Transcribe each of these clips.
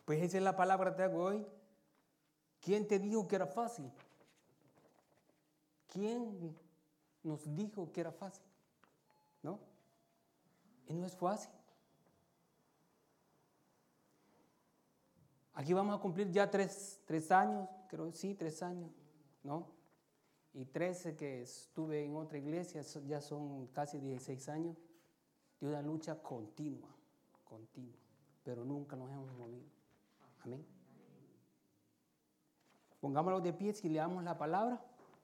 Pues esa es la palabra que te hago hoy. ¿Quién te dijo que era fácil? ¿Quién nos dijo que era fácil? ¿No? Y no es fácil. Aquí vamos a cumplir ya tres años, creo, sí, 3 años, ¿no? Y 13 que estuve en otra iglesia, ya son casi 16 años de una lucha continua, pero nunca nos hemos movido. Amén. Pongámoslo de pie y leamos la palabra.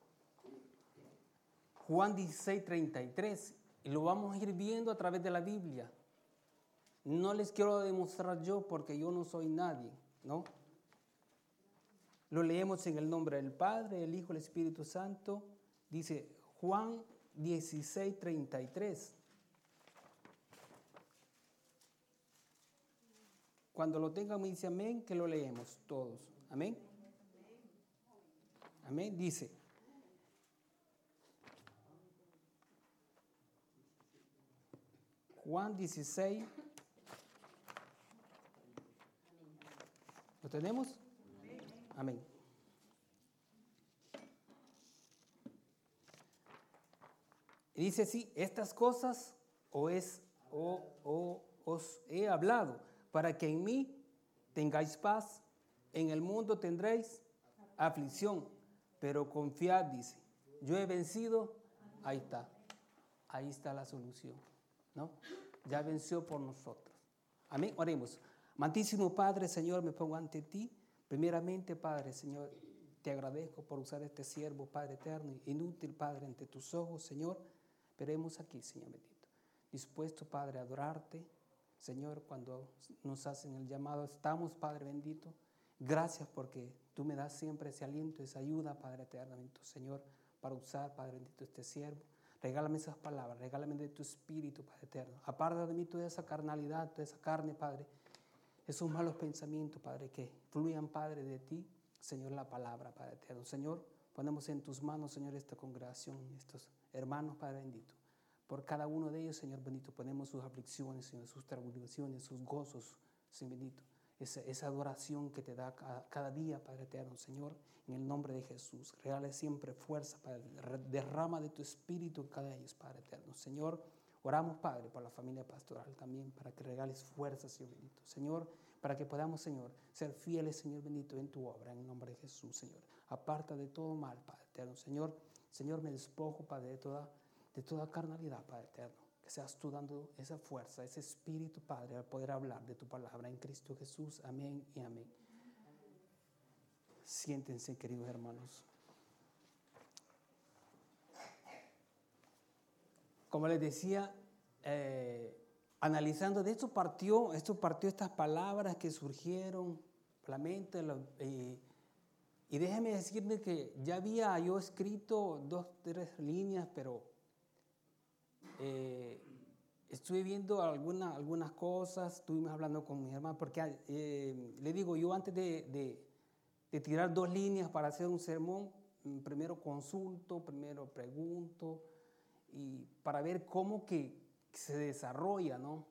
Juan 16, 33, y lo vamos a ir viendo a través de la Biblia. No les quiero demostrar yo porque yo no soy nadie, ¿no? Lo leemos en el nombre del Padre, el Hijo, el Espíritu Santo. Dice Juan 16, 33. Cuando lo tengan me dice amén, que lo leemos todos. Amén. Amén. Dice: Juan 16. ¿Lo tenemos? Amén. Y dice así: estas cosas os he hablado, para que en mí tengáis paz. En el mundo tendréis aflicción, pero confiad, dice, yo he vencido. Ahí está la solución, ¿no? Ya venció por nosotros. Amén. Oremos. Amantísimo Padre, Señor, me pongo ante ti. Primeramente, Padre, Señor, te agradezco por usar este siervo, Padre eterno, inútil, Padre, ante tus ojos, Señor. Veremos aquí, Señor bendito, dispuesto, Padre, a adorarte, Señor, cuando nos hacen el llamado. Estamos, Padre bendito. Gracias porque tú me das siempre ese aliento, esa ayuda, Padre eterno, Señor, para usar, Padre bendito, este siervo. Regálame esas palabras, regálame de tu espíritu, Padre eterno. Aparta de mí toda esa carnalidad, toda esa carne, Padre. Esos malos pensamientos, Padre, que fluyan, Padre, de ti, Señor, la palabra, Padre eterno. Señor, ponemos en tus manos, Señor, esta congregación, estos hermanos, Padre bendito. Por cada uno de ellos, Señor bendito, ponemos sus aflicciones, Señor, sus tribulaciones, sus gozos, Señor bendito. Esa adoración que te da cada día, Padre eterno, Señor, en el nombre de Jesús. Regale siempre fuerza, Padre. Derrama de tu espíritu en cada de ellos, Padre eterno. Señor, oramos, Padre, por la familia pastoral también, para que regales fuerza, Señor bendito. Señor, para que podamos, Señor, ser fieles, Señor bendito, en tu obra, en el nombre de Jesús, Señor. Aparta de todo mal, Padre eterno. Señor, me despojo, Padre, de toda carnalidad, Padre eterno. Que seas tú dando esa fuerza, ese espíritu, Padre, al poder hablar de tu palabra en Cristo Jesús. Amén y amén. Siéntense, queridos hermanos. Como les decía, analizando de esto partió estas palabras que surgieron, la mente, y déjeme decirle que ya había yo escrito 2, 3 líneas, pero estuve viendo algunas cosas, estuvimos hablando con mi hermano, porque le digo, yo antes de tirar 2 líneas para hacer un sermón, primero consulto, primero pregunto, y para ver cómo que se desarrolla, ¿no?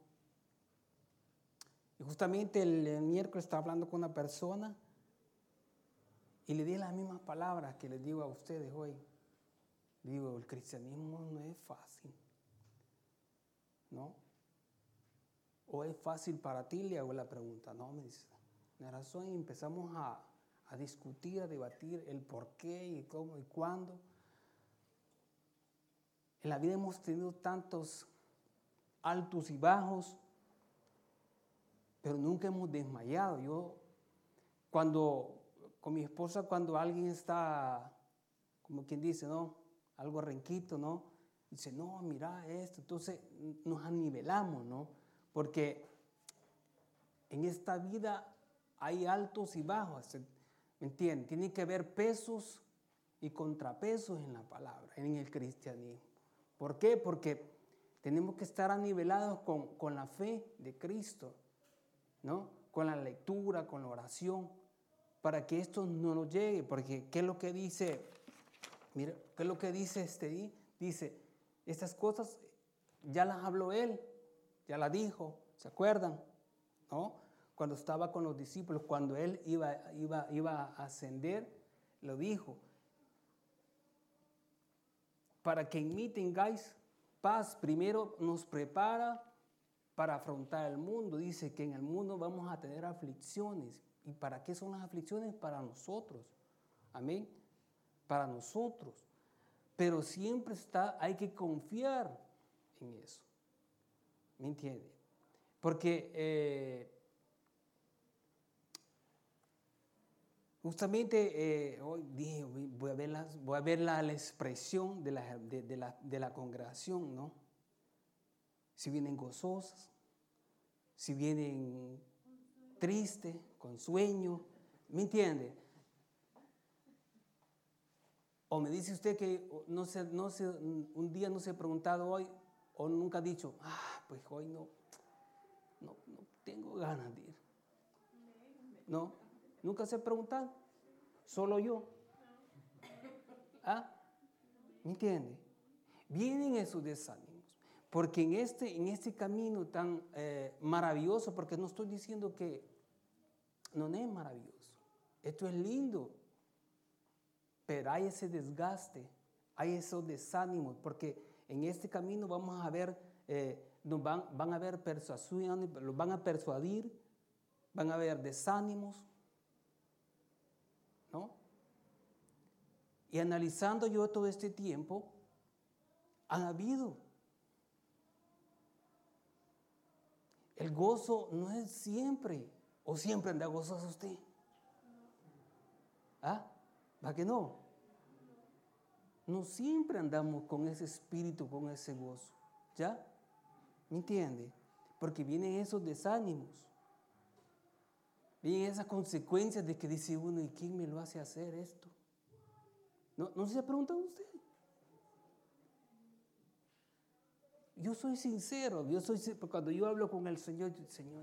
Y justamente el miércoles estaba hablando con una persona y le di las mismas palabras que les digo a ustedes hoy. Digo, el cristianismo no es fácil, ¿no? ¿O es fácil para ti? Le hago la pregunta. No, me dice, la razón, y empezamos a discutir, a debatir el por qué y cómo y cuándo. En la vida hemos tenido tantos altos y bajos, pero nunca hemos desmayado. Yo, con mi esposa, cuando alguien está, como quien dice, ¿no? Algo renquito, ¿no? Dice, no, mira esto. Entonces nos anivelamos, ¿no? Porque en esta vida hay altos y bajos, ¿me entienden? Tiene que haber pesos y contrapesos en la palabra, en el cristianismo. ¿Por qué? Porque tenemos que estar anivelados con la fe de Cristo, ¿no? Con la lectura, con la oración, para que esto no nos llegue. Porque ¿qué es lo que dice? Mira, ¿qué es lo que dice Dice, estas cosas ya las habló Él, ya las dijo, ¿se acuerdan? ¿No? cuando estaba con los discípulos, cuando Él iba a ascender, lo dijo, para que en mí tengáis paz. Primero nos prepara para afrontar el mundo. Dice que en el mundo vamos a tener aflicciones. ¿Y para qué son las aflicciones? Para nosotros. Amén. Para nosotros. Pero siempre hay que confiar en eso. ¿Me entiende? Porque justamente hoy dije, voy a ver la expresión de la congregación, ¿no? Si vienen gozosas, si vienen tristes, con sueño, ¿me entiende? O me dice usted que un día no se ha preguntado hoy, o nunca ha dicho, pues hoy no tengo ganas de ir. No, nunca se ha preguntado, solo yo. ¿Me entiende? Vienen esos desánimos. Porque en este camino tan maravilloso, porque no estoy diciendo que no es maravilloso, esto es lindo, pero hay ese desgaste, hay esos desánimos, porque en este camino vamos a ver, van a haber persuasiones, los van a persuadir, van a haber desánimos, ¿no? Y analizando yo todo este tiempo, han habido. El gozo no es siempre, o siempre anda gozoso usted. ¿Va que no? No siempre andamos con ese espíritu, con ese gozo. ¿Ya? ¿Me entiende? Porque vienen esos desánimos. Vienen esas consecuencias de que dice uno, ¿y quién me lo hace hacer esto? ¿No se ha preguntado usted? Yo soy sincero, cuando yo hablo con el Señor, Señor,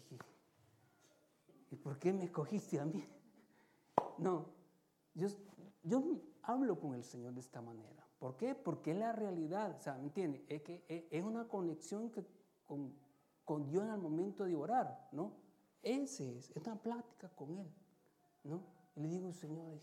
¿y por qué me escogiste a mí? No, yo hablo con el Señor de esta manera. ¿Por qué? Porque es la realidad, o sea, ¿me entiende? Es que es una conexión con Dios en el momento de orar, ¿no? Es una plática con Él, ¿no? Y le digo, Señor,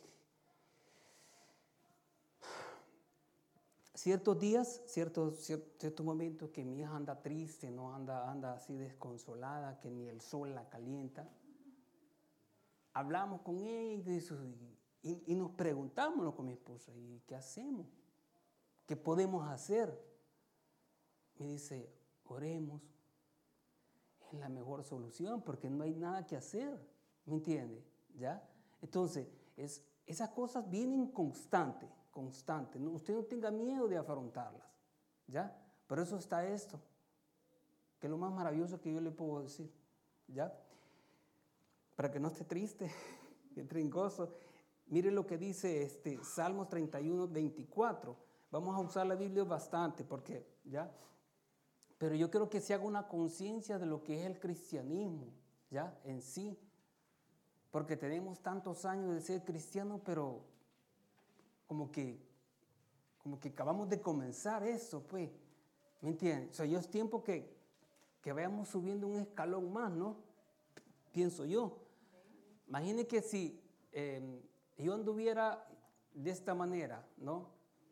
ciertos días, ciertos momentos que mi hija anda triste, no anda así desconsolada, que ni el sol la calienta. Hablamos con ella y nos preguntamos con mi esposa, ¿y qué hacemos? ¿Qué podemos hacer? Me dice, oremos. Es la mejor solución porque no hay nada que hacer. ¿Me entiende? ¿Ya? Entonces, esas cosas vienen constante. ¿No? Usted no tenga miedo de afrontarlas. ¿Ya? Por eso está esto, que es lo más maravilloso que yo le puedo decir. ¿Ya? Para que no esté triste, que entre en gozo. Mire lo que dice Salmos 31, 24. Vamos a usar la Biblia bastante porque, ¿ya? Pero yo creo que se haga una conciencia de lo que es el cristianismo, ¿ya? En sí. Porque tenemos tantos años de ser cristianos, pero como que acabamos de comenzar eso, pues. ¿Me entiendes? O sea, ya es tiempo que vayamos subiendo un escalón más, ¿no? Pienso yo. Imagine que si yo anduviera de esta manera, ¿no?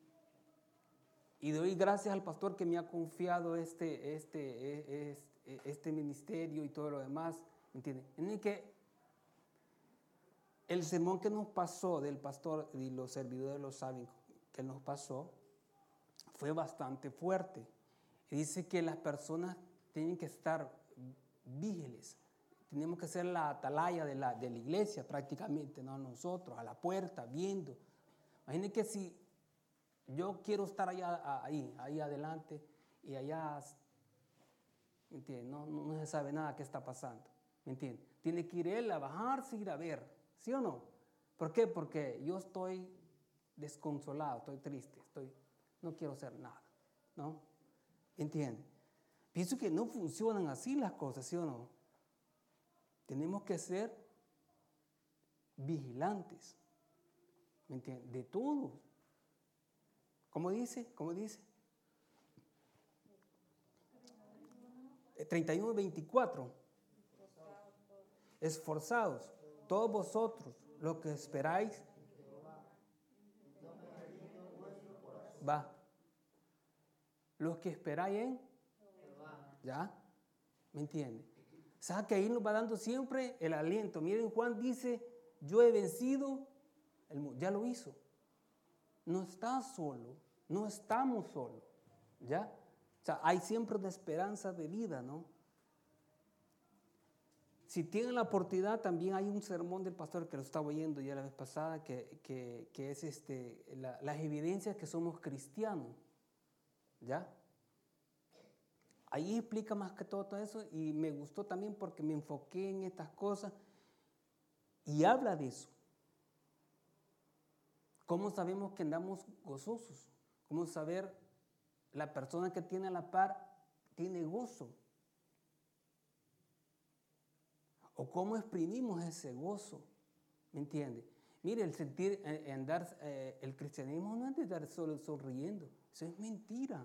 Y doy gracias al pastor que me ha confiado este ministerio y todo lo demás, ¿me entiende? En que el sermón que nos pasó del pastor, y los servidores lo saben, que nos pasó, fue bastante fuerte. Y dice que las personas tienen que estar vígiles. Tenemos que ser la atalaya de la iglesia prácticamente, no nosotros, a la puerta, viendo. Imagínense que si yo quiero estar ahí adelante y allá, ¿me entiende? No se sabe nada qué está pasando, ¿me entiende? Tiene que ir él a bajarse, ir a ver, ¿sí o no? ¿Por qué? Porque yo estoy desconsolado, estoy triste, no quiero hacer nada, ¿no? ¿Entiende? Pienso que no funcionan así las cosas, ¿sí o no? Tenemos que ser vigilantes, ¿me entiende? De todo. ¿Cómo dice? 31:24. Esforzados, todos vosotros, los que esperáis, va. Los que esperáis en, ¿ya? ¿Me entiende? O sea, que ahí nos va dando siempre el aliento. Miren, Juan dice, yo he vencido el mundo. Ya lo hizo. No está solo, no estamos solos, ¿ya? O sea, hay siempre una esperanza de vida, ¿no? Si tienen la oportunidad, también hay un sermón del pastor que lo estaba oyendo ya la vez pasada, que es las evidencias que somos cristianos, ¿ya? Ahí explica más que todo eso y me gustó también porque me enfoqué en estas cosas y habla de eso. ¿Cómo sabemos que andamos gozosos? ¿Cómo saber la persona que tiene a la par tiene gozo? ¿O cómo exprimimos ese gozo? ¿Me entiende? Mire, el sentir, andar, el cristianismo no es de estar solo sonriendo. Eso es mentira.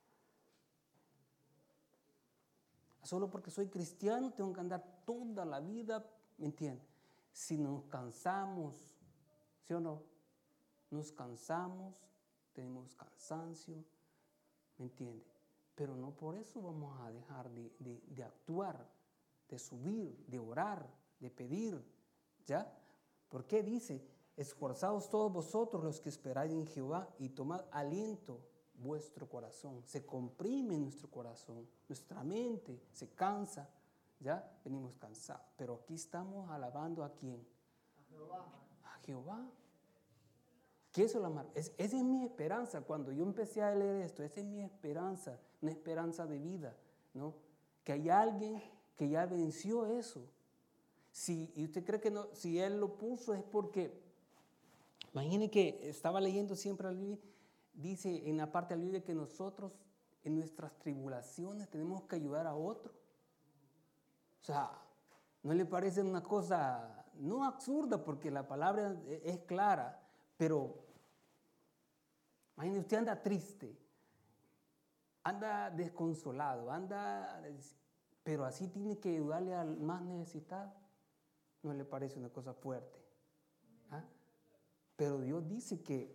Solo porque soy cristiano tengo que andar toda la vida, ¿me entiende? Si nos cansamos, ¿sí o no? Nos cansamos, tenemos cansancio, ¿me entiende? Pero no por eso vamos a dejar de actuar, de subir, de orar, de pedir, ¿ya? ¿Por qué dice? Esforzaos todos vosotros los que esperáis en Jehová y tomad aliento vuestro corazón. Se comprime nuestro corazón, nuestra mente se cansa, ¿ya? Venimos cansados, pero aquí estamos alabando ¿a quién? A Jehová. A Jehová. ¿Qué es la esa es mi esperanza. Cuando yo empecé a leer esto, esa es mi esperanza, una esperanza de vida, ¿no? Que hay alguien que ya venció eso. Y usted cree que no, si él lo puso es porque, imagine que estaba leyendo siempre la Biblia, dice en la parte de la Biblia que nosotros en nuestras tribulaciones tenemos que ayudar a otro. O sea, ¿no le parece una cosa, no absurda, porque la palabra es clara, pero imagínese, usted anda triste, anda desconsolado, pero así tiene que ayudarle al más necesitado. ¿No le parece una cosa fuerte? ¿Ah? Pero Dios dice que,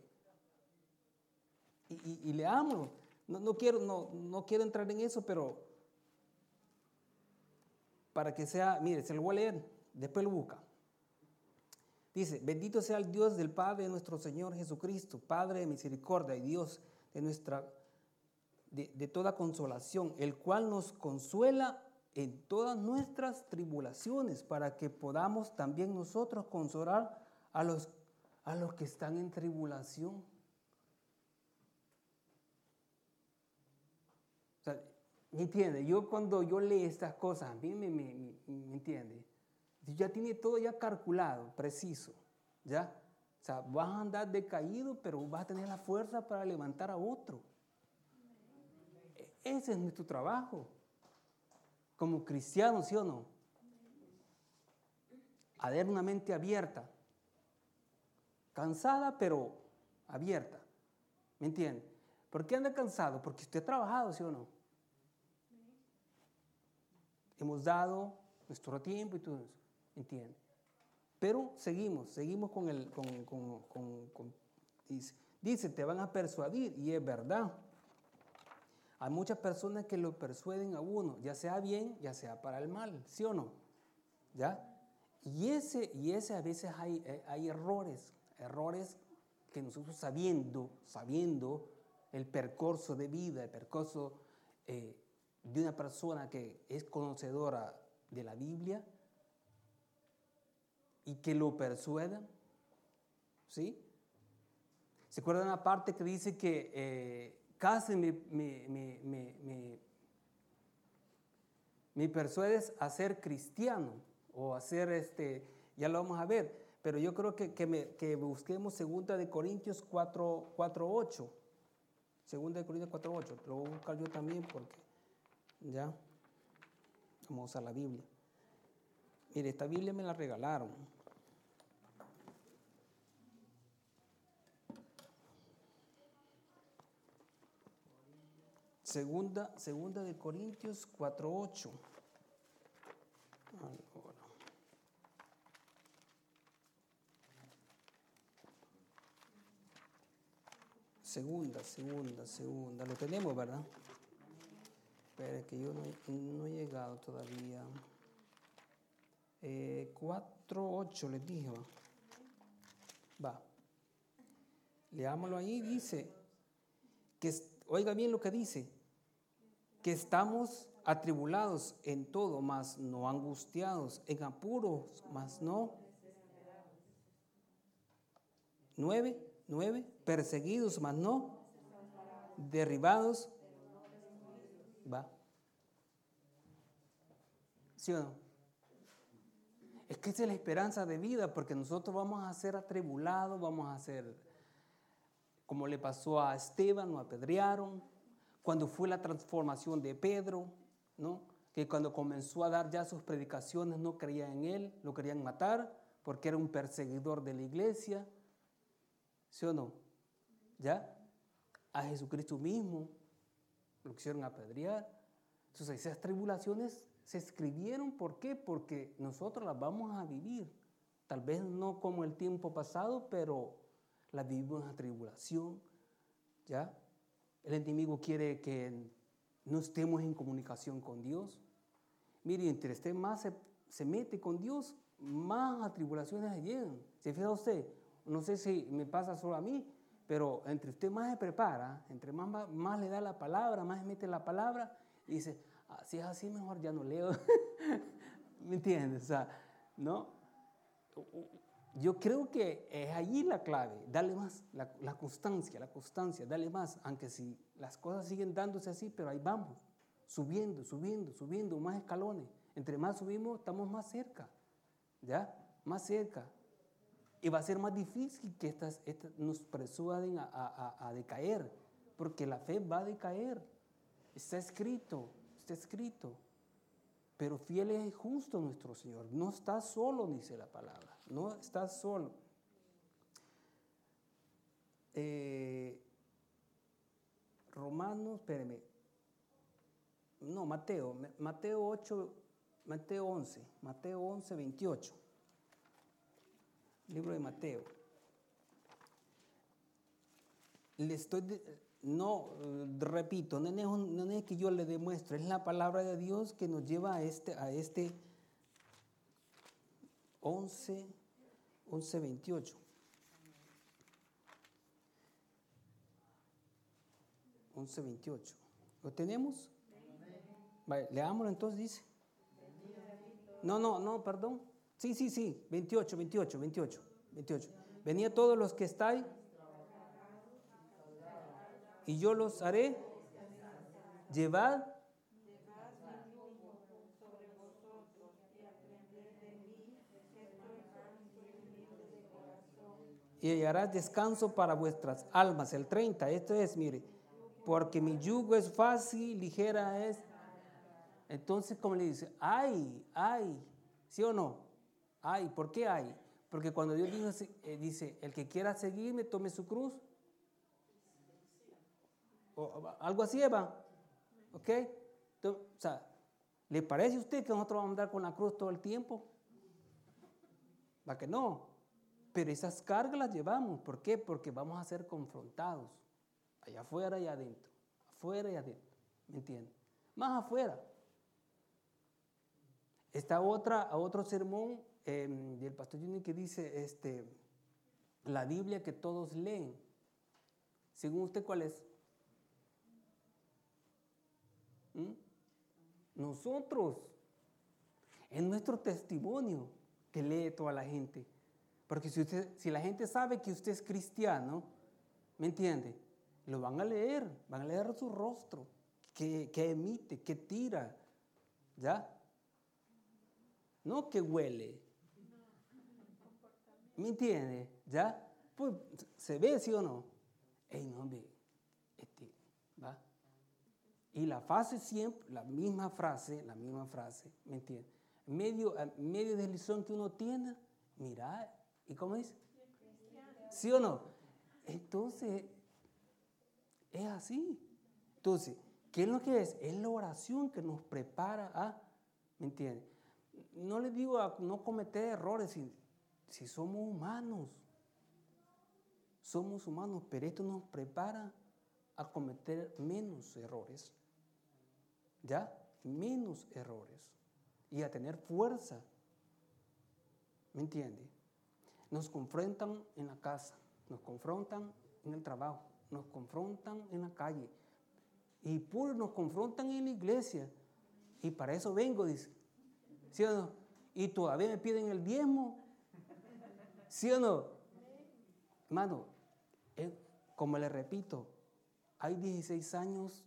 y leámoslo, no quiero entrar en eso, pero para que sea, mire, se lo voy a leer, después lo busca. Dice, bendito sea el Dios del Padre de nuestro Señor Jesucristo, Padre de misericordia y Dios de toda consolación, el cual nos consuela en todas nuestras tribulaciones, para que podamos también nosotros consolar a los que están en tribulación. O sea, ¿me entiende? Yo cuando yo leo estas cosas, a mí me entiende. Ya tiene todo ya calculado, preciso, ¿ya? O sea, vas a andar decaído, pero vas a tener la fuerza para levantar a otro. Ese es nuestro trabajo, como cristianos, ¿sí o no? A ver, una mente abierta, cansada, pero abierta, ¿me entiende? ¿Por qué anda cansado? Porque usted ha trabajado, ¿sí o no? Hemos dado nuestro tiempo y todo eso, ¿entiende? Pero seguimos con dice, te van a persuadir, y es verdad. Hay muchas personas que lo persuaden a uno, ya sea bien, ya sea para el mal, ¿sí o no? ¿Ya? Y ese a veces hay errores que nosotros sabiendo el percurso de vida, el percurso de una persona que es conocedora de la Biblia y que lo persuedan, ¿sí? ¿Se acuerdan la parte que dice que casi me persuades a ser cristiano o a ser ya lo vamos a ver, pero yo creo que busquemos 2 de Corintios 4:8. 2 de Corintios 4:8, lo voy a buscar yo también porque ya vamos a la Biblia. Mire, esta Biblia me la regalaron. Segunda de Corintios 4:8. segunda. Lo tenemos, ¿verdad? Espera que yo no he llegado todavía. 4:8 les dije, va. Leámoslo ahí, dice, oiga bien lo que dice, que estamos atribulados en todo, mas no angustiados, en apuros, mas no. 9, perseguidos, mas no. Derribados. Va. ¿Sí o no? Es que esa es la esperanza de vida, porque nosotros vamos a ser atribulados, vamos a ser como le pasó a Esteban, lo apedrearon. Cuando fue la transformación de Pedro, ¿no? Que cuando comenzó a dar ya sus predicaciones no creían en él, lo querían matar porque era un perseguidor de la iglesia. ¿Sí o no? ¿Ya? A Jesucristo mismo lo quisieron apedrear. Entonces esas tribulaciones se escribieron, ¿por qué? Porque nosotros las vamos a vivir. Tal vez no como el tiempo pasado, pero las vivimos en la tribulación. ¿Ya? El enemigo quiere que no estemos en comunicación con Dios. Mire, entre usted más se mete con Dios, más atribulaciones llegan. ¿Se fija usted? No sé si me pasa solo a mí, pero entre usted más se prepara, entre más le da la palabra, más se mete la palabra y dice, si es así mejor ya no leo. ¿Me entiendes? O sea, ¿no? Yo creo que es allí la clave, darle más, la constancia, darle más, aunque si las cosas siguen dándose así, pero ahí vamos, subiendo, más escalones. Entre más subimos, estamos más cerca, ¿ya? Más cerca. Y va a ser más difícil que estas nos persuaden a decaer, porque la fe va a decaer. Está escrito. Pero fiel es justo nuestro Señor. No está solo, dice la palabra. No está solo. Romanos, espéreme. No, Mateo 11, 28. Libro de Mateo. Repito, no es que yo le demuestre, es la palabra de Dios que nos lleva a este 11, 28. 11:28. ¿Lo tenemos? Vale, leámoslo entonces, dice. No, perdón. Sí, 28. Venid todos los que estáis y yo los haré. Llevad y hallarás descanso para vuestras almas. El 30, esto es, mire, porque mi yugo es fácil, ligera es. Entonces, como le dice, ay, ¿sí o no? Ay, ¿por qué hay? Porque cuando Dios dice, el que quiera seguirme, tome su cruz. O algo así, ¿va? ¿Ok? Entonces, o sea, ¿le parece a usted que nosotros vamos a andar con la cruz todo el tiempo? ¿Va que no? Pero esas cargas las llevamos. ¿Por qué? Porque vamos a ser confrontados. Allá afuera y adentro. Afuera y adentro. ¿Me entiende? Más afuera. Está otro sermón del pastor Junior que dice, la Biblia que todos leen. Según usted, ¿cuál es? Nosotros. Es nuestro testimonio que lee toda la gente. Porque si la gente sabe que usted es cristiano, ¿me entiende? Lo van a leer su rostro, que emite, que tira, ¿ya? No que huele. ¿Me entiende? ¿Ya? Pues se ve, ¿sí o no? Ey, no, hombre, ¿va? Y la frase siempre, la misma frase, ¿me entiende? Medio de lición que uno tiene, mira, ¿y cómo dice? ¿Sí o no? Entonces, es así. Entonces, ¿qué es lo que es? Es la oración que nos prepara a, ¿me entiende? No les digo a no cometer errores si somos humanos. somos humanos, pero esto nos prepara a cometer menos errores, ¿ya? Menos errores y a tener fuerza, ¿me entiende? Nos confrontan en la casa, nos confrontan en el trabajo, nos confrontan en la calle y nos confrontan en la iglesia y para eso vengo, dice, ¿sí o no? Y todavía me piden el diezmo, ¿sí o no? Hermano, como le repito, hay 16 años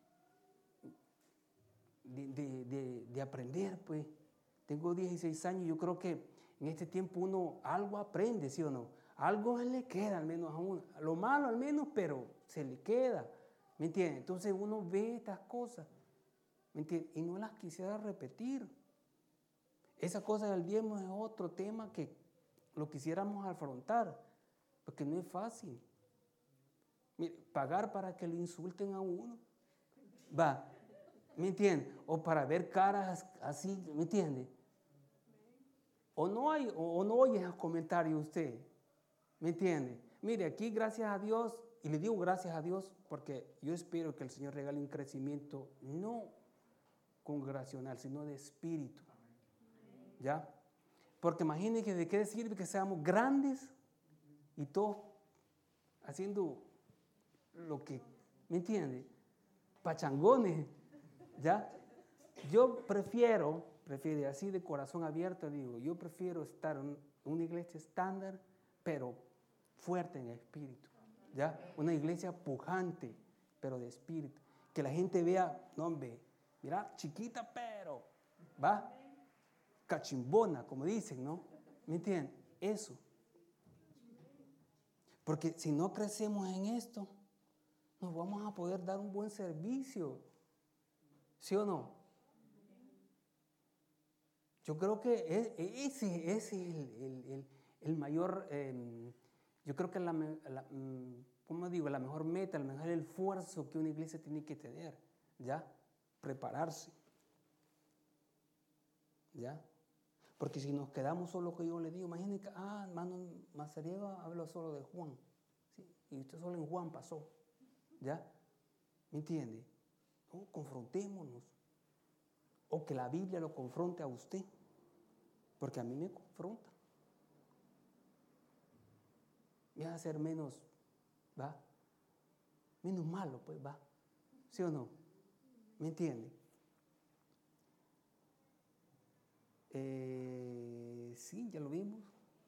de aprender, pues. Tengo 16 años, yo creo que en este tiempo uno algo aprende, ¿sí o no? Algo le queda al menos a uno. Lo malo al menos, pero se le queda, ¿me entiende? Entonces uno ve estas cosas, ¿me entiende? Y no las quisiera repetir. Esa cosa del diezmo es otro tema que lo quisiéramos afrontar, porque no es fácil. Mire, pagar para que lo insulten a uno, va, ¿me entiende? O para ver caras así, ¿me entiende? O no oye esos comentarios usted, ¿me entiende? Mire, aquí gracias a Dios, y le digo gracias a Dios porque yo espero que el Señor regale un crecimiento no congregacional, sino de espíritu, ¿ya? Porque imagínense de qué sirve que seamos grandes y todos haciendo lo que, ¿me entiende? Pachangones, ¿ya? Yo prefiero así de corazón abierto, digo, yo prefiero estar en una iglesia estándar, pero fuerte en espíritu, ¿ya? Una iglesia pujante, pero de espíritu. Que la gente vea, no hombre, mira, chiquita, pero, ¿va? Cachimbona, como dicen, ¿no? ¿Me entienden? Eso. Porque si no crecemos en esto, no vamos a poder dar un buen servicio. ¿Sí o no? Yo creo que ese es el mayor, yo creo que ¿cómo digo? La mejor meta, el mejor esfuerzo que una iglesia tiene que tener, ¿ya? Prepararse, ¿ya? Porque si nos quedamos solo que yo le digo, imagínense, hermano Mazariego habló solo de Juan, ¿sí? Y usted solo en Juan pasó, ¿ya? ¿Me entiende? No, confrontémonos. O que la Biblia lo confronte a usted, porque a mí me confronta. Me hace ser menos, ¿va? Menos malo, pues, ¿va? ¿Sí o no? ¿Me entiende? Sí, ya lo vimos.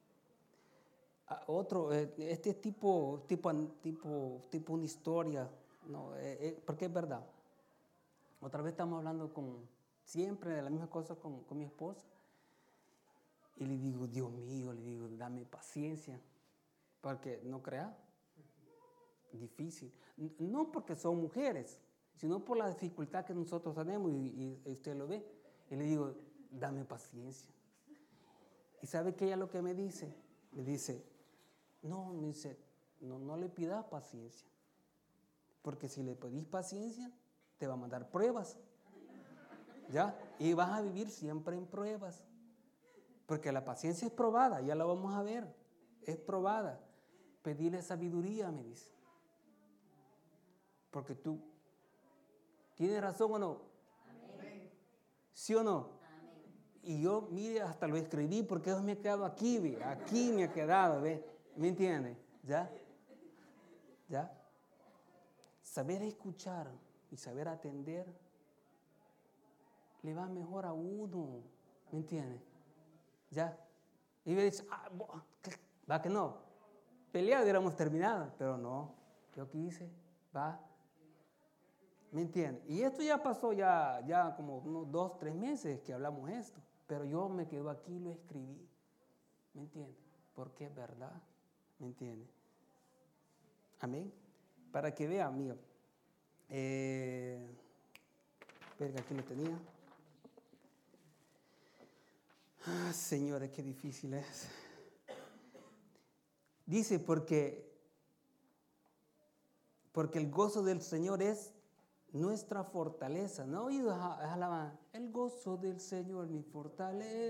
Otro, este tipo una historia, no, porque es verdad. Otra vez estamos hablando siempre de la misma cosa con mi esposa. Y le digo, Dios mío, le digo, dame paciencia. Porque no crea, difícil. No porque son mujeres, sino por la dificultad que nosotros tenemos y usted lo ve. Y le digo, dame paciencia. ¿Y sabe que ella lo que me dice? Me dice, no le pidas paciencia. Porque si le pedís paciencia, te va a mandar pruebas. ¿Ya? Y vas a vivir siempre en pruebas. Porque la paciencia es probada, ya la vamos a ver. Es probada. Pedirle sabiduría, me dice. Porque tú tienes razón o no. Amén. ¿Sí o no? Amén. Y yo, mire, hasta lo escribí porque eso me ha quedado aquí, ¿ve? Aquí me ha quedado, ¿ve? ¿Me entiende? ¿Ya? ¿Ya? Saber escuchar y saber atender le va mejor a uno, ¿me entiende? ¿Ya? Y me dice, va que no, peleado hubiéramos terminado, pero no, yo quise, va, ¿me entiende? Y esto ya pasó ya como unos 2, 3 meses que hablamos esto, pero yo me quedo aquí y lo escribí, ¿me entiende? Porque es verdad, ¿me entiende? Amén. Para que vea, amigo, verga, aquí lo tenía. Señores, qué difícil es. Dice, porque el gozo del Señor es nuestra fortaleza. ¿No oído alabanza? El gozo del Señor mi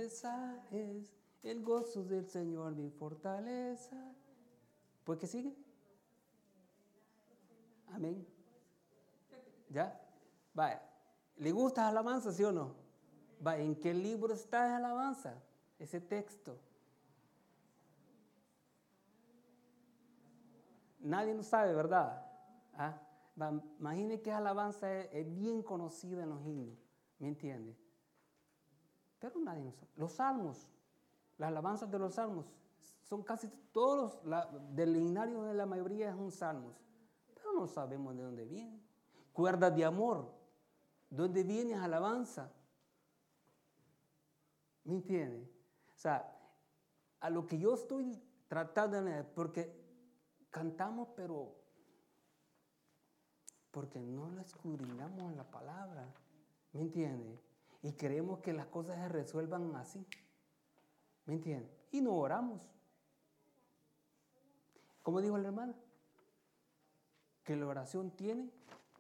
fortaleza es. El gozo del Señor mi fortaleza. ¿Pues qué sigue? Amén. ¿Ya? Vaya. ¿Le gusta alabanza, sí o no? Vaya, ¿en qué libro está esa alabanza? Ese texto. Nadie lo sabe, ¿verdad? ¿Ah? Imagine que esa alabanza es bien conocida en los himnos. ¿Me entiende? Pero nadie lo sabe. Los salmos, las alabanzas de los salmos, son casi todos del himnario de la mayoría son salmos. Pero no sabemos de dónde vienen. Cuerdas de amor, ¿dónde viene esa alabanza? ¿Me entiende? O sea, a lo que yo estoy tratando de... Porque cantamos, pero porque no lo escudriñamos en la palabra. ¿Me entiende? Y creemos que las cosas se resuelvan así. ¿Me entiende? Y no oramos. ¿Cómo dijo la hermana? Que la oración tiene.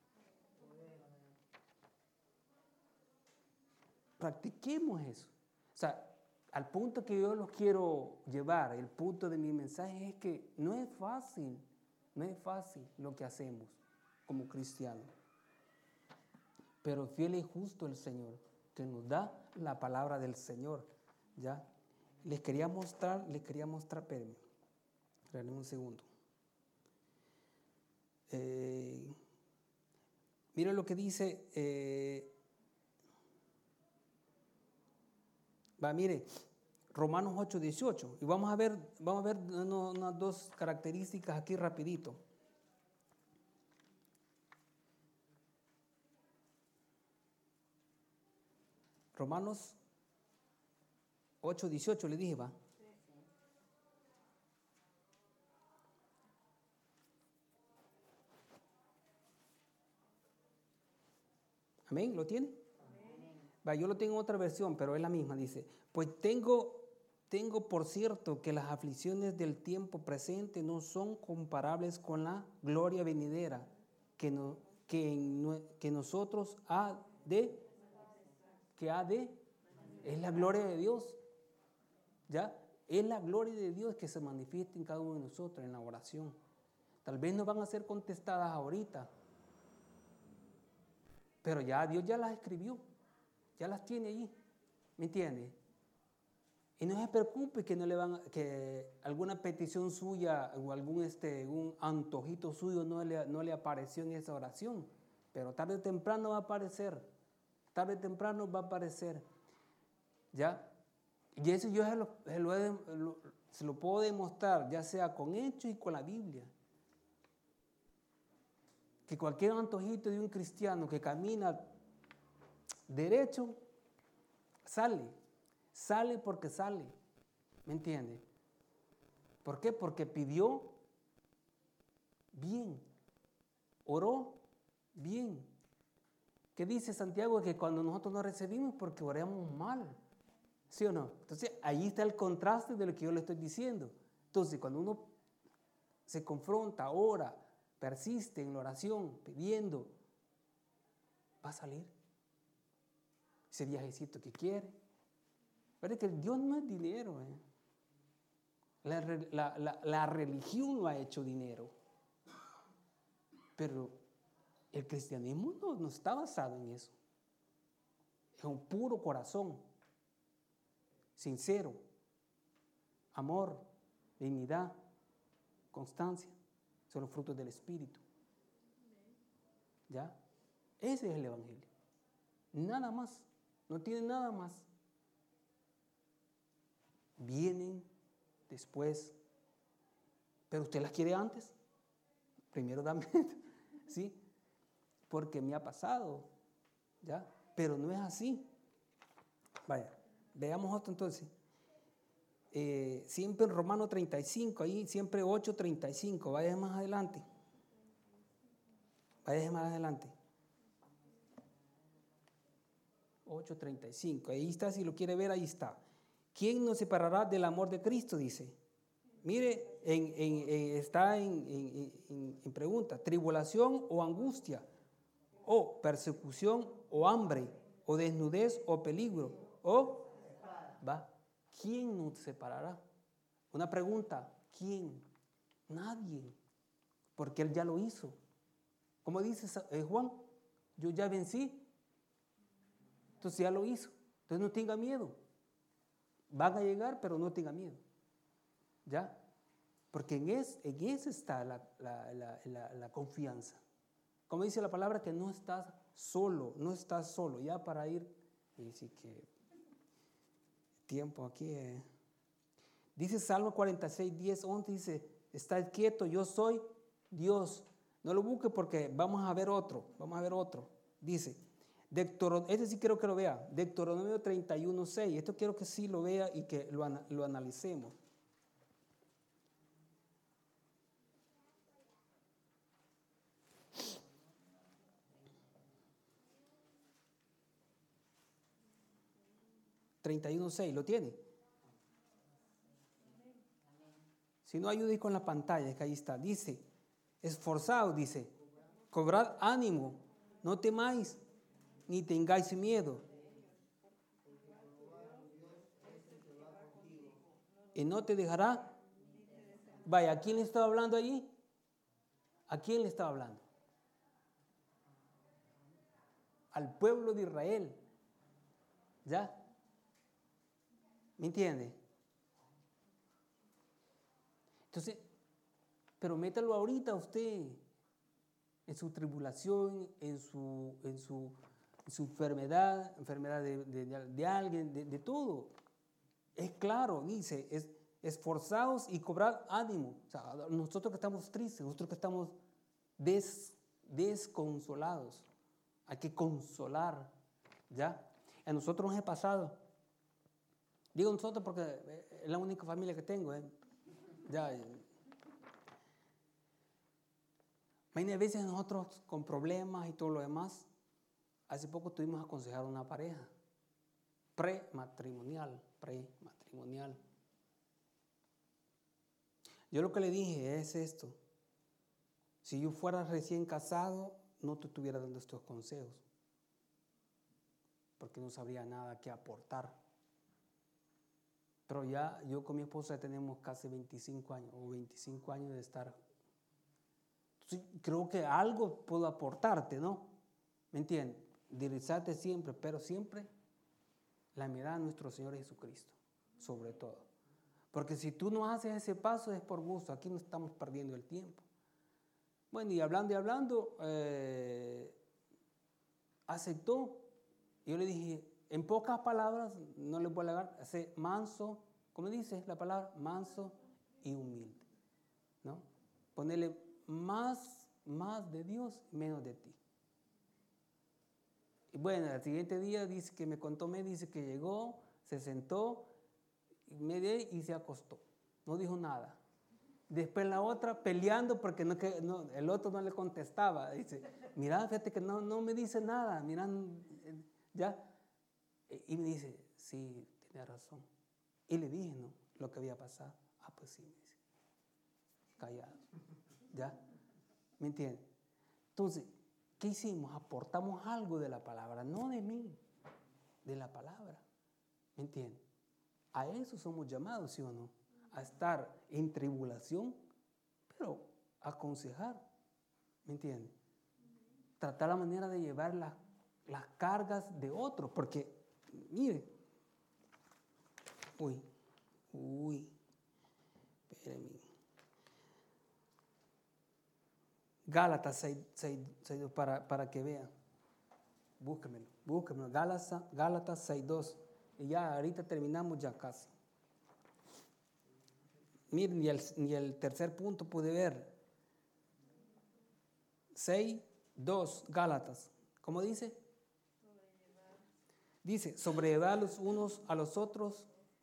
Practiquemos eso. O sea, al punto que yo los quiero llevar, el punto de mi mensaje es que no es fácil lo que hacemos como cristianos. Pero fiel y justo el Señor, que nos da la palabra del Señor. ¿Ya? Les quería mostrar, espérenme un segundo. Miren lo que dice, mire, Romanos 8:18. Y vamos a ver unas dos características aquí rapidito. Romanos 8:18 le dije, va. Amén, ¿lo tiene? Va, yo lo tengo en otra versión, pero es la misma, dice, pues tengo por cierto que las aflicciones del tiempo presente no son comparables con la gloria venidera que nosotros es la gloria de Dios, ¿ya? Es la gloria de Dios que se manifiesta en cada uno de nosotros en la oración. Tal vez no van a ser contestadas ahorita, pero ya Dios ya las escribió, ya las tiene allí, ¿me entiende? Y no se preocupe que alguna petición suya o un antojito suyo no le apareció en esa oración, pero tarde o temprano va a aparecer, ¿ya? Y eso yo se lo puedo demostrar, ya sea con hechos y con la Biblia. Que cualquier antojito de un cristiano que camina derecho, sale porque sale, ¿me entiende? ¿Por qué? Porque pidió bien, oró bien. ¿Qué dice Santiago? Que cuando nosotros no recibimos porque oramos mal, ¿sí o no? Entonces ahí está el contraste de lo que yo le estoy diciendo. Entonces cuando uno se confronta, ora, persiste en la oración, pidiendo, va a salir ese viajecito que quiere. Pero es que Dios no es dinero. La religión lo ha hecho dinero. Pero el cristianismo no está basado en eso. Es un puro corazón, sincero, amor, dignidad, constancia. Son los frutos del Espíritu. ¿Ya? Ese es el Evangelio. Nada más. No tiene nada más. Vienen después. Pero usted las quiere antes. Primero dame. ¿Sí? Porque me ha pasado. ¿Ya? Pero no es así. Vaya. Veamos otro entonces. Siempre en Romano 35, ahí siempre 8:35. Vaya más adelante. 8:35. Ahí está, si lo quiere ver, ahí está. ¿Quién nos separará del amor de Cristo? Dice. Mire, está en pregunta. Tribulación o angustia, o persecución o hambre, o desnudez o peligro, ¿quién nos separará? Una pregunta, ¿quién? Nadie, porque Él ya lo hizo. Como dice Juan, yo ya vencí. Entonces ya lo hizo. Entonces no tenga miedo. Van a llegar, pero no tenga miedo. ¿Ya? Porque en eso está la confianza. Como dice la palabra, que no estás solo, no estás solo. Ya para ir, y sí que tiempo aquí. Dice Salmo 46, 10, 11, dice, estad quieto, yo soy Dios. No lo busque porque vamos a ver otro. Dice, este sí quiero que lo vea, Deuteronomio 31, 6. Esto quiero que sí lo vea y que lo analicemos. ¿31:6? ¿Lo tiene? Si no, ayude con la pantalla, que ahí está. Dice, esforzaos, dice, cobrad ánimo, no temáis, ni tengáis miedo. Y no te dejará. Vaya, ¿a quién le estaba hablando allí? ¿A quién le estaba hablando? Al pueblo de Israel. ¿Ya? ¿Me entiende? Entonces, pero métalo ahorita usted en su tribulación, en su enfermedad de alguien, de todo. Es claro, dice, esforzaos y cobrad ánimo. O sea, nosotros que estamos tristes, nosotros que estamos desconsolados, hay que consolar, ¿ya? A nosotros nos ha pasado. Digo nosotros porque es la única familia que tengo, Ya. Hay veces nosotros con problemas y todo lo demás. Hace poco tuvimos a aconsejar a una pareja prematrimonial. Yo lo que le dije es esto. Si yo fuera recién casado, no te estuviera dando estos consejos, porque no sabría nada que aportar. Pero ya yo con mi esposa tenemos casi 25 años de estar. Entonces, creo que algo puedo aportarte, ¿no? ¿Me entiendes? Dirigirte siempre, pero siempre la mirada a nuestro Señor Jesucristo, sobre todo. Porque si tú no haces ese paso es por gusto, aquí no estamos perdiendo el tiempo. Bueno, y hablando, aceptó. Yo le dije, en pocas palabras, no le voy a alegar, sé manso, ¿cómo dice la palabra? Manso y humilde, ¿no? Ponerle más de Dios, menos de ti. Y bueno, al siguiente día dice que dice que llegó, se sentó, y se acostó. No dijo nada. Después la otra peleando porque el otro no le contestaba. Dice, mira, fíjate que no me dice nada. Mira, ya. Y me dice, sí, tiene razón. Y le dije, ¿no? Lo que había pasado. Ah, pues sí, me dice. Callado. ¿Ya? ¿Me entiendes? Entonces, ¿qué hicimos? Aportamos algo de la palabra, no de mí, de la palabra. ¿Me entiendes? A eso somos llamados, ¿sí o no? A estar en tribulación, pero aconsejar. ¿Me entiendes? Tratar la manera de llevar las cargas de otros, porque, mire, espérenme. Gálatas 6, para que vean. Búsquemelo. Gálatas 6:2. Y ya ahorita terminamos ya casi. Miren, ni el tercer punto pude ver. 6:2, Gálatas. ¿Cómo dice? Dice, sobrellevar los unos a los otros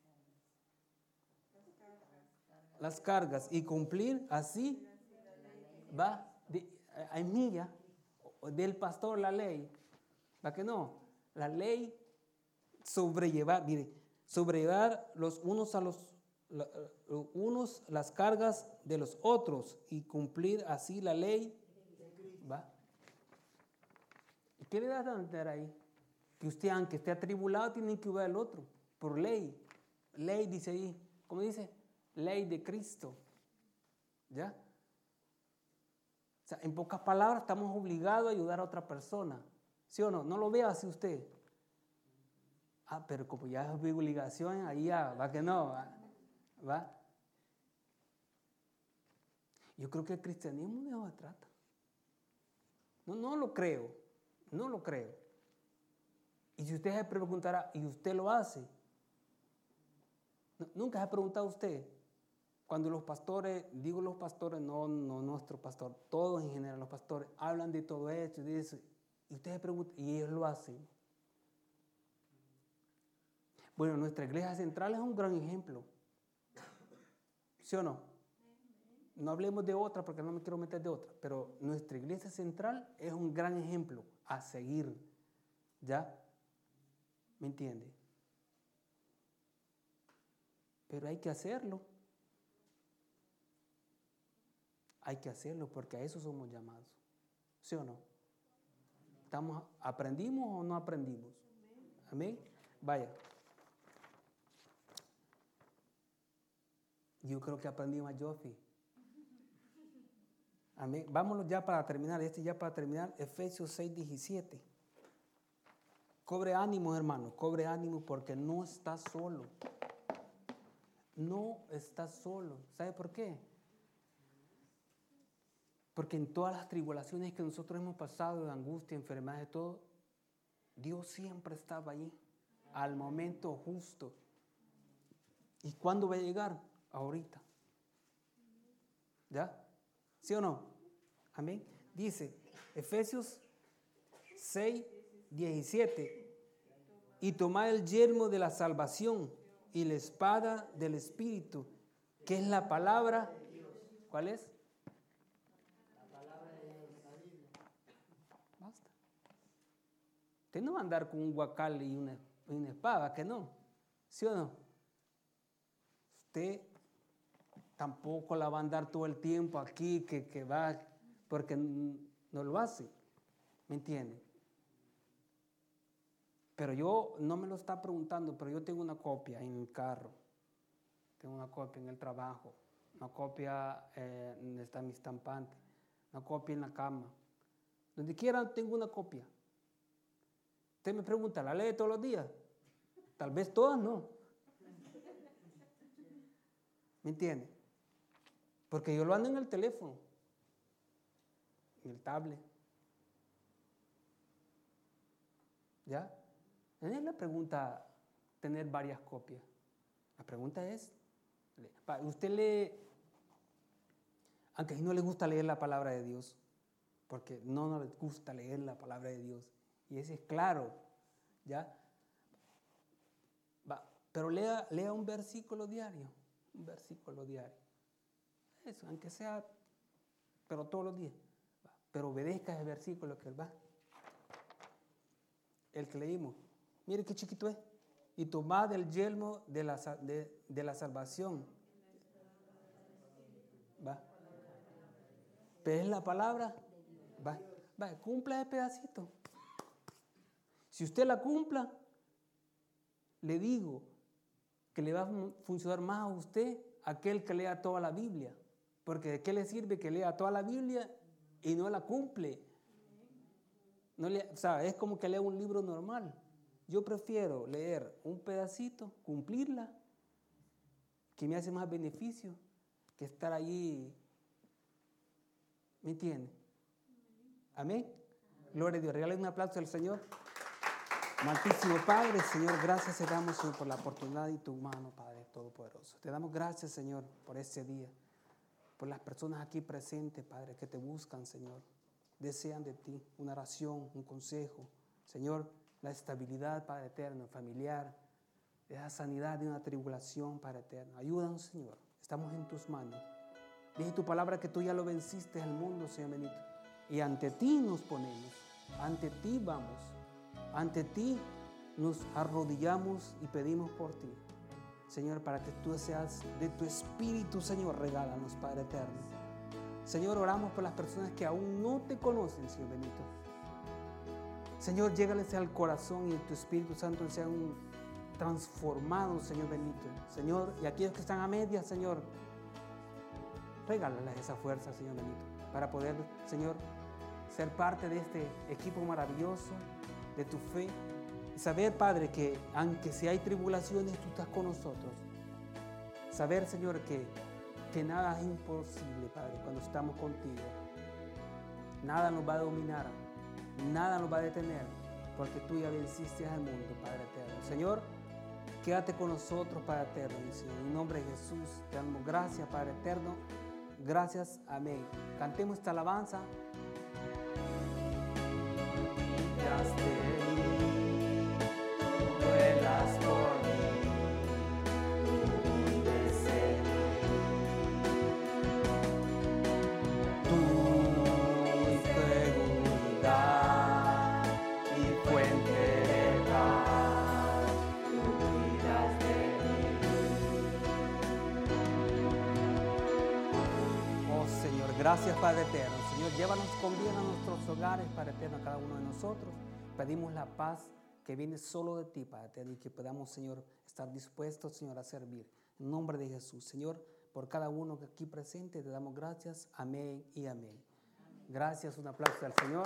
las cargas y cumplir así va a milla del pastor la ley. ¿Va que no? La ley sobrellevar los unos a los unos las cargas de los otros y cumplir así la ley. ¿Va? ¿Qué le das a entender ahí? Que usted, aunque esté atribulado, tiene que ayudar al otro por ley. Ley dice ahí, ¿cómo dice? Ley de Cristo. ¿Ya? O sea, en pocas palabras, estamos obligados a ayudar a otra persona. ¿Sí o no? No lo vea así usted. Pero como ya es obligación, ahí ya va que no. ¿Va? Yo creo que el cristianismo de eso se trata. No lo creo. No lo creo. Y si usted se preguntará, ¿y usted lo hace? Nunca se ha preguntado usted. Cuando los pastores, digo los pastores, no nuestro pastor, todos en general los pastores, hablan de todo esto y de eso, y usted se pregunta, ¿y ellos lo hacen? Bueno, nuestra iglesia central es un gran ejemplo. ¿Sí o no? No hablemos de otra porque no me quiero meter de otra, pero nuestra iglesia central es un gran ejemplo a seguir. ¿Ya? ¿Me entiende? Pero hay que hacerlo. Hay que hacerlo porque a eso somos llamados. ¿Sí o no? ¿Aprendimos o no aprendimos? Amén. Vaya. Yo creo que aprendí más yo, Jofi. Amén. Vámonos ya para terminar. Efesios 6:17. Cobre ánimo, hermano. Cobre ánimo porque no estás solo. No estás solo. ¿Sabe por qué? Porque en todas las tribulaciones que nosotros hemos pasado, de angustia, enfermedad, de todo, Dios siempre estaba ahí, al momento justo. ¿Y cuándo va a llegar? Ahorita. ¿Ya? ¿Sí o no? Amén. Dice, Efesios 6:17, y tomad el yelmo de la salvación y la espada del Espíritu, que es la palabra. ¿Cuál es? Basta. Usted no va a andar con un guacal y una espada, que no. ¿Sí o no? Usted tampoco la va a andar todo el tiempo aquí, que va, porque no lo hace. ¿Me entiende? Pero yo, no me lo está preguntando, pero yo tengo una copia en el carro, tengo una copia en el trabajo, una copia donde está mi estampante, una copia en la cama. Donde quiera tengo una copia. Usted me pregunta, ¿la lee todos los días? Tal vez todas no. ¿Me entiende? Porque yo lo ando en el teléfono, en el tablet. ¿Ya? No es la pregunta tener varias copias. La pregunta es, usted lee, aunque a mí no le gusta leer la palabra de Dios, porque no le gusta leer la palabra de Dios, y ese es claro, ¿ya? Pero lea un versículo diario, Eso, aunque sea, pero todos los días. Pero obedezca ese versículo que va. El que leímos. Mire qué chiquito es. Y tomad el yelmo de la salvación. ¿Va? Pero es la palabra. Va, cumpla ese pedacito. Si usted la cumpla, le digo que le va a funcionar más a usted aquel que lea toda la Biblia. Porque ¿de qué le sirve que lea toda la Biblia y no la cumple? O sea, es como que lea un libro normal. Yo prefiero leer un pedacito, cumplirla, que me hace más beneficio que estar allí. ¿Me entiende? Amén. Gloria a Dios. Regálale un aplauso al Señor. Amantísimo Padre, Señor, gracias te damos, Señor, por la oportunidad y tu mano, Padre Todopoderoso. Te damos gracias, Señor, por este día, por las personas aquí presentes, Padre, que te buscan, Señor. Desean de ti una oración, un consejo. Señor, la estabilidad, Padre eterno, familiar, esa sanidad de una tribulación, Padre eterno. Ayúdanos, Señor. Estamos en tus manos. Dice tu palabra que tú ya lo venciste al mundo, Señor bendito. Y ante ti nos ponemos. Ante ti vamos. Ante ti nos arrodillamos y pedimos por ti. Señor, para que tú seas de tu espíritu, Señor, regálanos, Padre eterno. Señor, oramos por las personas que aún no te conocen, Señor bendito. Señor, llégales al corazón y tu Espíritu Santo sean transformados, Señor bendito. Señor, y aquellos que están a medias, Señor, regálales esa fuerza, Señor bendito. para poder, Señor, ser parte de este equipo maravilloso de tu fe. Y saber, Padre, que aunque si hay tribulaciones, tú estás con nosotros. Saber, Señor, que nada es imposible, Padre, cuando estamos contigo. Nada nos va a dominar, nada nos va a detener, porque tú ya venciste al mundo, Padre eterno. Señor, quédate con nosotros, Padre eterno. En nombre de Jesús, te damos gracias, Padre eterno. Gracias, amén. Cantemos esta alabanza. Vuelas por mí, tú vives en mí. Tu seguridad y fuente de paz, tú cuidas de mí. Oh Señor, gracias Padre eterno. Señor, llévanos con bien a nuestros hogares, Padre eterno, a cada uno de nosotros. Pedimos la paz que viene solo de ti, Padre eterno, y que podamos, Señor, estar dispuestos, Señor, a servir. En nombre de Jesús, Señor, por cada uno que aquí presente, te damos gracias. Amén y amén. Gracias, un aplauso al Señor.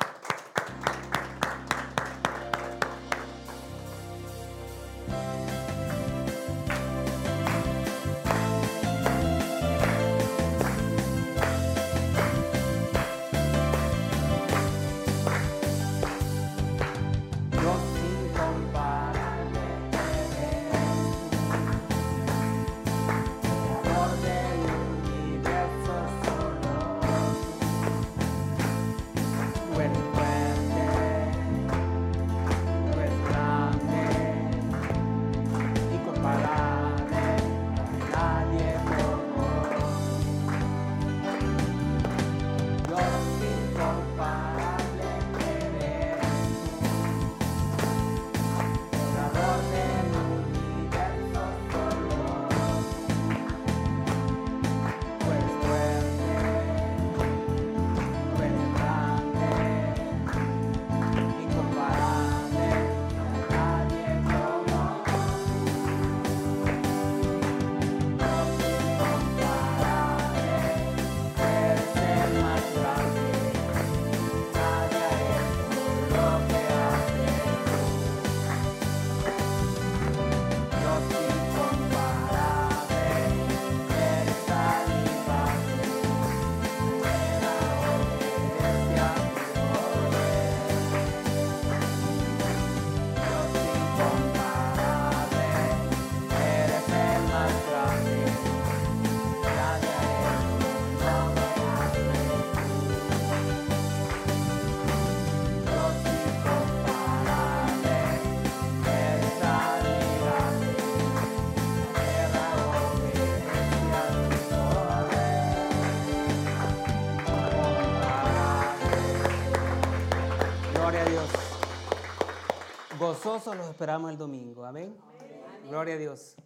Gozosos los esperamos el domingo. Amén. Gloria a Dios.